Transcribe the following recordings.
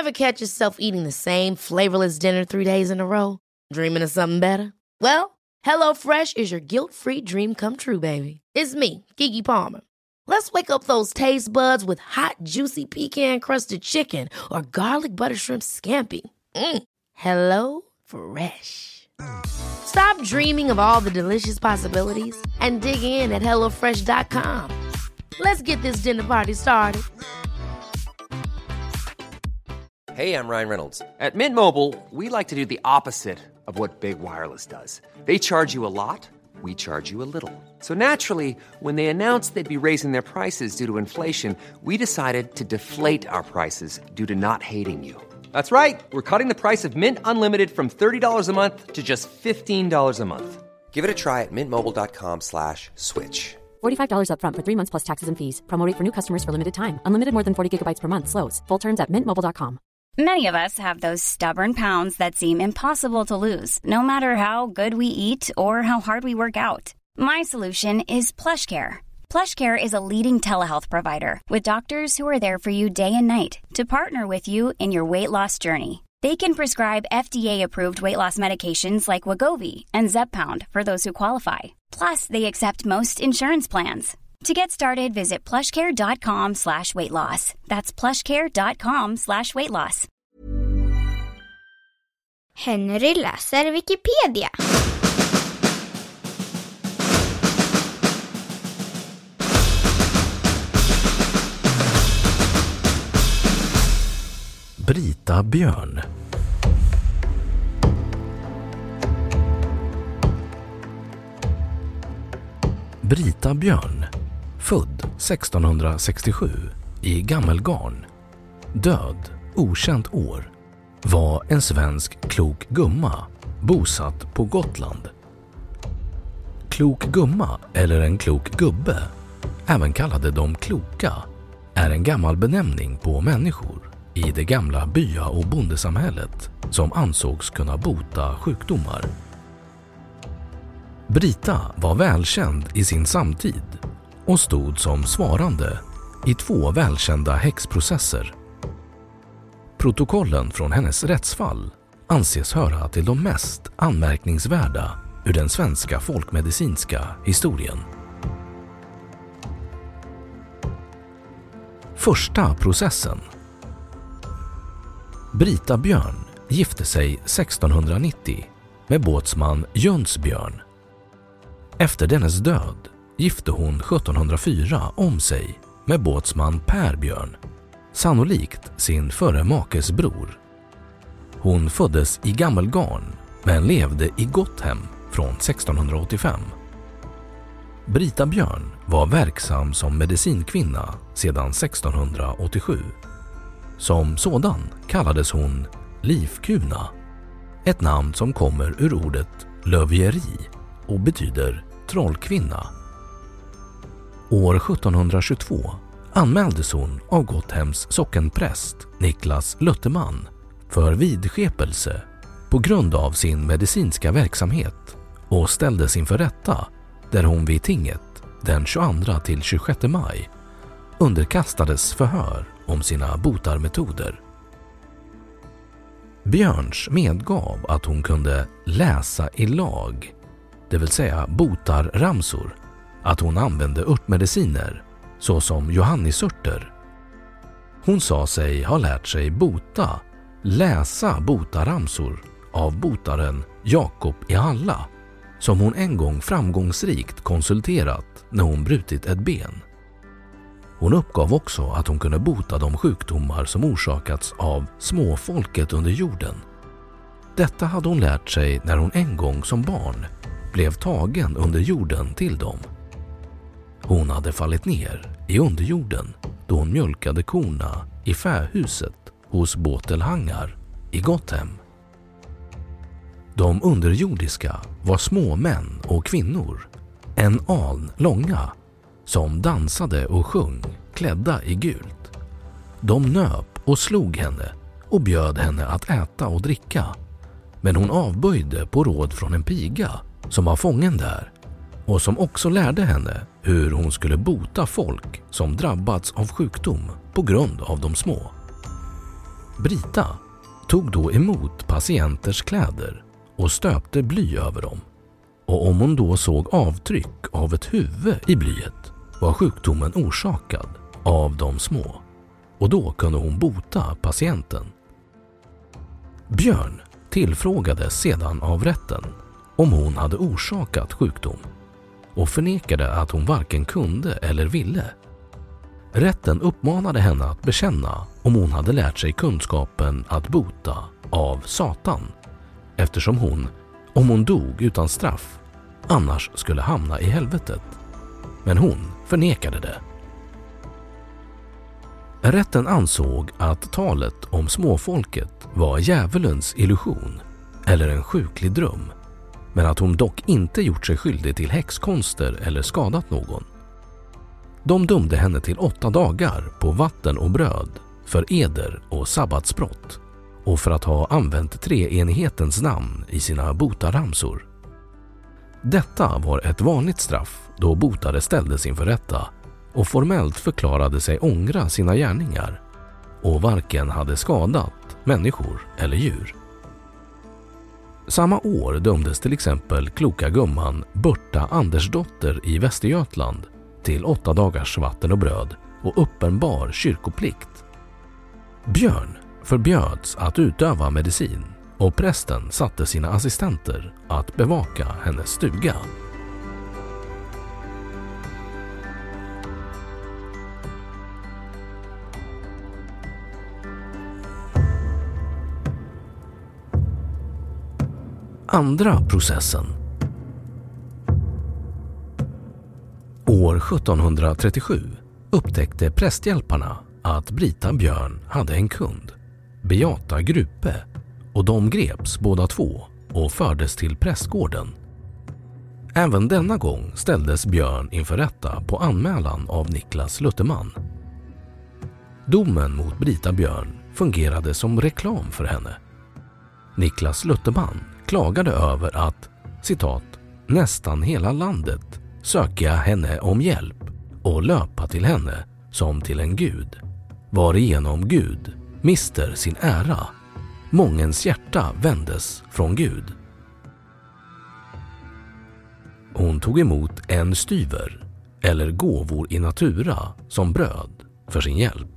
Ever catch yourself eating the same flavorless dinner 3 days in a row? Dreaming of something better? Well, HelloFresh is your guilt-free dream come true, baby. It's me, Keke Palmer. Let's wake up those taste buds with hot, juicy pecan-crusted chicken or garlic butter shrimp scampi. Hello Fresh. Stop dreaming of all the delicious possibilities and dig in at HelloFresh.com. Let's get this dinner party started. Hey, I'm Ryan Reynolds. At Mint Mobile, we like to do the opposite of what Big Wireless does. They charge you a lot, we charge you a little. So naturally, when they announced they'd be raising their prices due to inflation, we decided to deflate our prices due to not hating you. That's right. We're cutting the price of Mint Unlimited from $30 a month to just $15 a month. Give it a try at mintmobile.com/switch. $45 up front for 3 months plus taxes and fees. Promo rate for new customers for limited time. Unlimited more than 40 gigabytes per month. Slows full terms at mintmobile.com. Many of us have those stubborn pounds that seem impossible to lose, no matter how good we eat or how hard we work out. My solution is PlushCare. PlushCare is a leading telehealth provider with doctors who are there for you day and night to partner with you in your weight loss journey. They can prescribe FDA-approved weight loss medications like Wegovy and Zepbound for those who qualify. Plus, they accept most insurance plans. To get started, visit plushcare.com/weightloss. That's plushcare.com/weightloss. Henry läser Wikipedia. Brita Björn. Brita Björn, född 1667 i Gammelgarn, död okänt år, var en svensk klok gumma bosatt på Gotland. Klok gumma eller en klok gubbe, även kallade de kloka, är en gammal benämning på människor i det gamla bya- och bondesamhället som ansågs kunna bota sjukdomar. Brita var välkänd i sin samtid och stod som svarande i 2 välkända häxprocesser. Protokollen från hennes rättsfall anses höra till de mest anmärkningsvärda ur den svenska folkmedicinska historien. Första processen. Brita Björn gifte sig 1690 med båtsman Jönsbjörn. Efter dennes död gifte hon 1704 om sig med båtsman Per Björn, sannolikt sin förre makes bror. Hon föddes i Gammelgarn men levde i Gotthem från 1685. Brita Björn var verksam som medicinkvinna sedan 1687. Som sådan kallades hon Livkuna, ett namn som kommer ur ordet lövieri och betyder trollkvinna. År 1722 anmäldes hon av Gotthems sockenpräst Niklas Lutterman för vidskepelse på grund av sin medicinska verksamhet och ställdes inför rätta där hon vid tinget den 22 till 26 maj underkastades förhör om sina botarmetoder. Björns medgav att hon kunde läsa i lag, det vill säga botarramsor, att hon använde örtmediciner såsom johannisörter. Hon sa sig ha lärt sig läsa botarramsor av botaren Jakob i Halla, som hon en gång framgångsrikt konsulterat när hon brutit ett ben. Hon uppgav också att hon kunde bota de sjukdomar som orsakats av småfolket under jorden. Detta hade hon lärt sig när hon en gång som barn blev tagen under jorden till dem. Hon hade fallit ner i underjorden då hon mjölkade korna i fähuset hos Båtelhangar i Gotthem. De underjordiska var små män och kvinnor, en aln långa, som dansade och sjöng klädda i gult. De nöp och slog henne och bjöd henne att äta och dricka, men hon avböjde på råd från en piga som var fången där och som också lärde henne hur hon skulle bota folk som drabbats av sjukdom på grund av de små. Brita tog då emot patienters kläder och stöpte bly över dem. Och om hon då såg avtryck av ett huvud i blyet var sjukdomen orsakad av de små. Och då kunde hon bota patienten. Björn tillfrågades sedan av rätten om hon hade orsakat sjukdom och förnekade att hon varken kunde eller ville. Rätten uppmanade henne att bekänna om hon hade lärt sig kunskapen att bota av Satan, eftersom hon, om hon dog utan straff, annars skulle hamna i helvetet. Men hon förnekade det. Rätten ansåg att talet om småfolket var djävulens illusion eller en sjuklig dröm, men att hon dock inte gjort sig skyldig till häxkonster eller skadat någon. De dömde henne till 8 dagar på vatten och bröd för eder och sabbatsbrott och för att ha använt treenighetens namn i sina botaramsor. Detta var ett vanligt straff då botare ställdes inför rätta och formellt förklarade sig ångra sina gärningar och varken hade skadat människor eller djur. Samma år dömdes till exempel kloka gumman Berta Andersdotter i Västergötland till 8 dagars vatten och bröd och uppenbar kyrkoplikt. Björn förbjöds att utöva medicin och prästen satte sina assistenter att bevaka hennes stuga. Andra processen. År 1737 upptäckte prästhjälparna att Brita Björn hade en kund, Beata Grupe, och de greps båda två och fördes till prästgården. Även denna gång ställdes Björn inför rätta på anmälan av Niklas Lutterman. Domen mot Brita Björn fungerade som reklam för henne. Niklas Lutterman klagade över att, citat, nästan hela landet söka henne om hjälp och löpa till henne som till en gud, varigenom Gud mister sin ära. Mångens hjärta vändes från Gud. Hon tog emot 1 styver eller gåvor i natura som bröd för sin hjälp.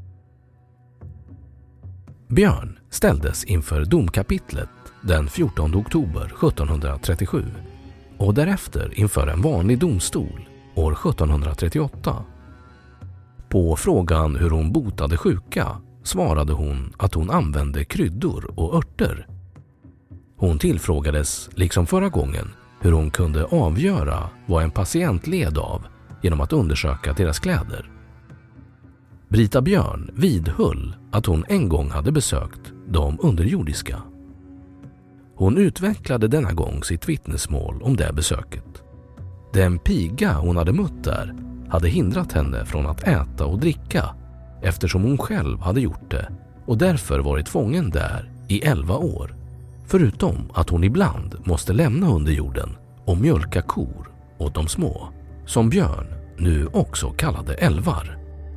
Björn ställdes inför domkapitlet den 14 oktober 1737 och därefter inför en vanlig domstol år 1738. På frågan hur hon botade sjuka svarade hon att hon använde kryddor och örter. Hon tillfrågades, liksom förra gången, hur hon kunde avgöra vad en patient led av genom att undersöka deras kläder. Brita Björn vidhöll att hon en gång hade besökt de underjordiska. Hon utvecklade denna gång sitt vittnesmål om det besöket. Den piga hon hade mött där hade hindrat henne från att äta och dricka eftersom hon själv hade gjort det och därför varit fången där i 11 år. Förutom att hon ibland måste lämna underjorden och mjölka kor åt de små, som Björn nu också kallade älvar.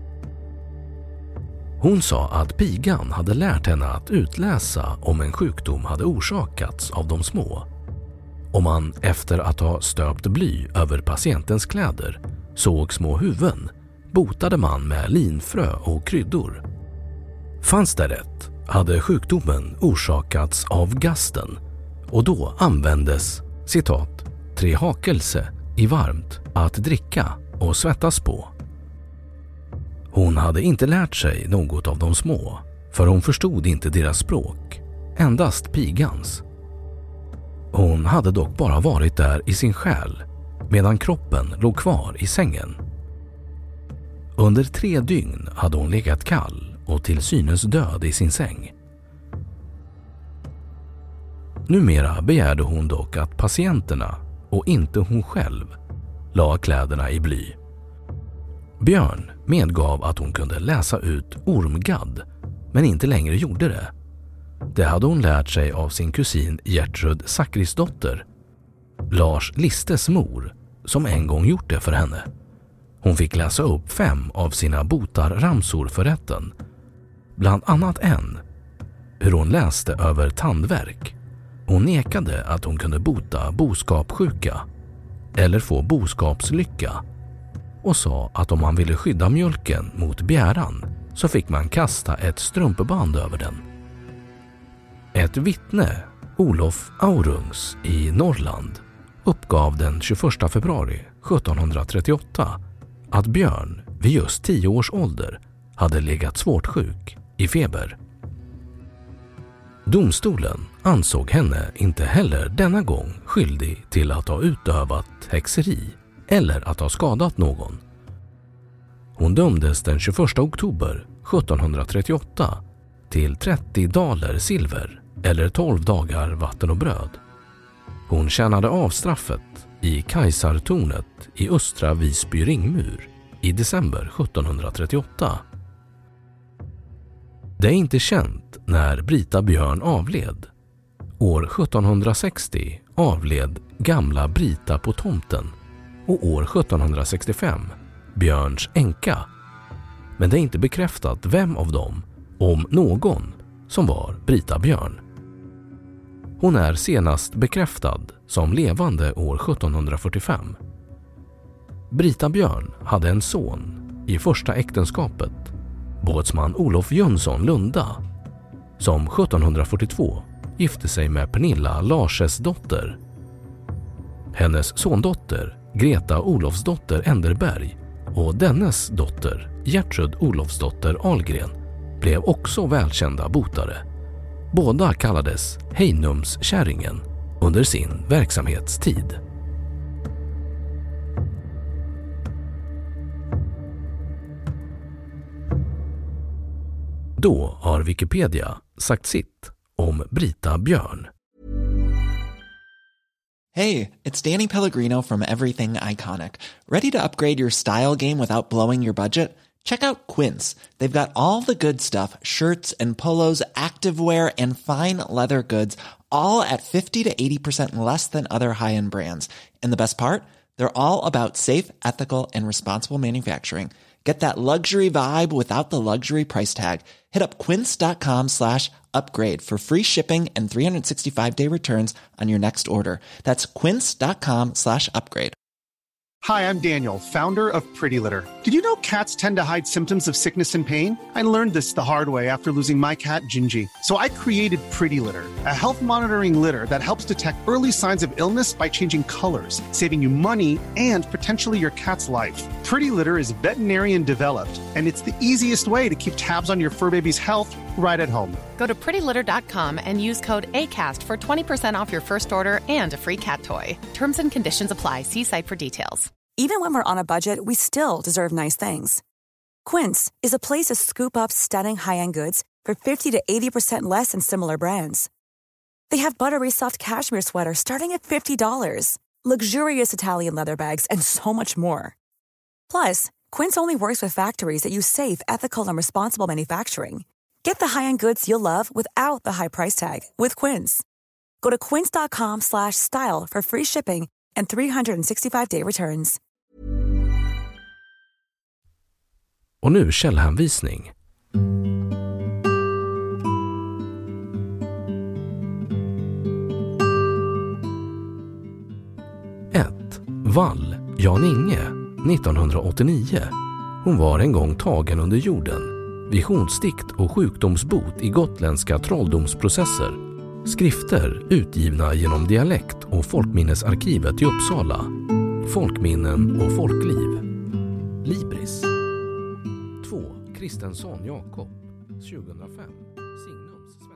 Hon sa att pigan hade lärt henne att utläsa om en sjukdom hade orsakats av de små. Om man efter att ha stöpt bly över patientens kläder såg små huvuden, botade man med linfrö och kryddor. Fanns det rätt hade sjukdomen orsakats av gasten och då användes, citat, 3 hakelse i varmt att dricka och svettas på. Hon hade inte lärt sig något av de små, för hon förstod inte deras språk, endast pigans. Hon hade dock bara varit där i sin själ, medan kroppen låg kvar i sängen. Under 3 dygn hade hon legat kall och till synes död i sin säng. Numera begärde hon dock att patienterna, och inte hon själv, la kläderna i bly. Björn medgav att hon kunde läsa ut ormgadd, men inte längre gjorde det. Det hade hon lärt sig av sin kusin Gertrud Zackrisdotter, Lars Listes mor, som en gång gjort det för henne. Hon fick läsa upp 5 av sina botarramsor för rätten. bland annat hur hon läste över tandvärk. Hon nekade att hon kunde bota boskapssjuka eller få boskapslycka och sa att om man ville skydda mjölken mot bjäran så fick man kasta ett strumpeband över den. Ett vittne, Olof Aurungs i Norrland, uppgav den 21 februari 1738 att Björn vid just 10 års ålder hade legat svårt sjuk i feber. Domstolen ansåg henne inte heller denna gång skyldig till att ha utövat häxeri eller att ha skadat någon. Hon dömdes den 21 oktober 1738 till 30 daler silver eller 12 dagar vatten och bröd. Hon tjänade av straffet i Kajsartornet i östra Visby ringmur i december 1738. Det är inte känt när Brita Björn avled. År 1760 avled gamla Brita på tomten och år 1765 Björns änka. Men det är inte bekräftat vem av dem, om någon, som var Brita Björn. Hon är senast bekräftad som levande år 1745. Brita Björn hade en son i första äktenskapet, båtsman Olof Jönsson Lunda, som 1742 gifte sig med Pernilla Larses dotter. Hennes sondotter Greta Olofsdotter Enderberg och dennes dotter Gertrud Olofsdotter Ahlgren blev också välkända botare. Båda kallades Heinumskärringen under sin verksamhetstid. Då har Wikipedia sagt sitt om Brita Björn. Hey, it's Danny Pellegrino from Everything Iconic. Ready to upgrade your style game without blowing your budget? Check out Quince. They've got all the good stuff, shirts and polos, activewear and fine leather goods, all at 50 to 80% less than other high-end brands. And the best part? They're all about safe, ethical and responsible manufacturing. Get that luxury vibe without the luxury price tag. Hit up quince.com/upgrade for free shipping and 365-day returns on your next order. That's quince.com/upgrade. Hi, I'm Daniel, founder of Pretty Litter. Did you know cats tend to hide symptoms of sickness and pain? I learned this the hard way after losing my cat, Gingy. So I created Pretty Litter, a health monitoring litter that helps detect early signs of illness by changing colors, saving you money and potentially your cat's life. Pretty Litter is veterinarian developed, and it's the easiest way to keep tabs on your fur baby's health right at home. Go to prettylitter.com and use code ACAST for 20% off your first order and a free cat toy. Terms and conditions apply. See site for details. Even when we're on a budget, we still deserve nice things. Quince is a place to scoop up stunning high-end goods for 50 to 80% less than similar brands. They have buttery soft cashmere sweaters starting at $50, luxurious Italian leather bags, and so much more. Plus, Quince only works with factories that use safe, ethical, and responsible manufacturing. Get the high-end goods you'll love without the high price tag with Quince. Go to quince.com/style for free shipping and 365-day returns. Och nu källhänvisning. 1. Wall, Jan-Inge, 1989. Hon var en gång tagen under jorden. Visionsdikt och sjukdomsbot i gotländska trolldomsprocesser. Skrifter utgivna genom dialekt- och folkminnesarkivet i Uppsala. Folkminnen och folkliv. Libris. 2. Kristensson Jakob, 2005. Signums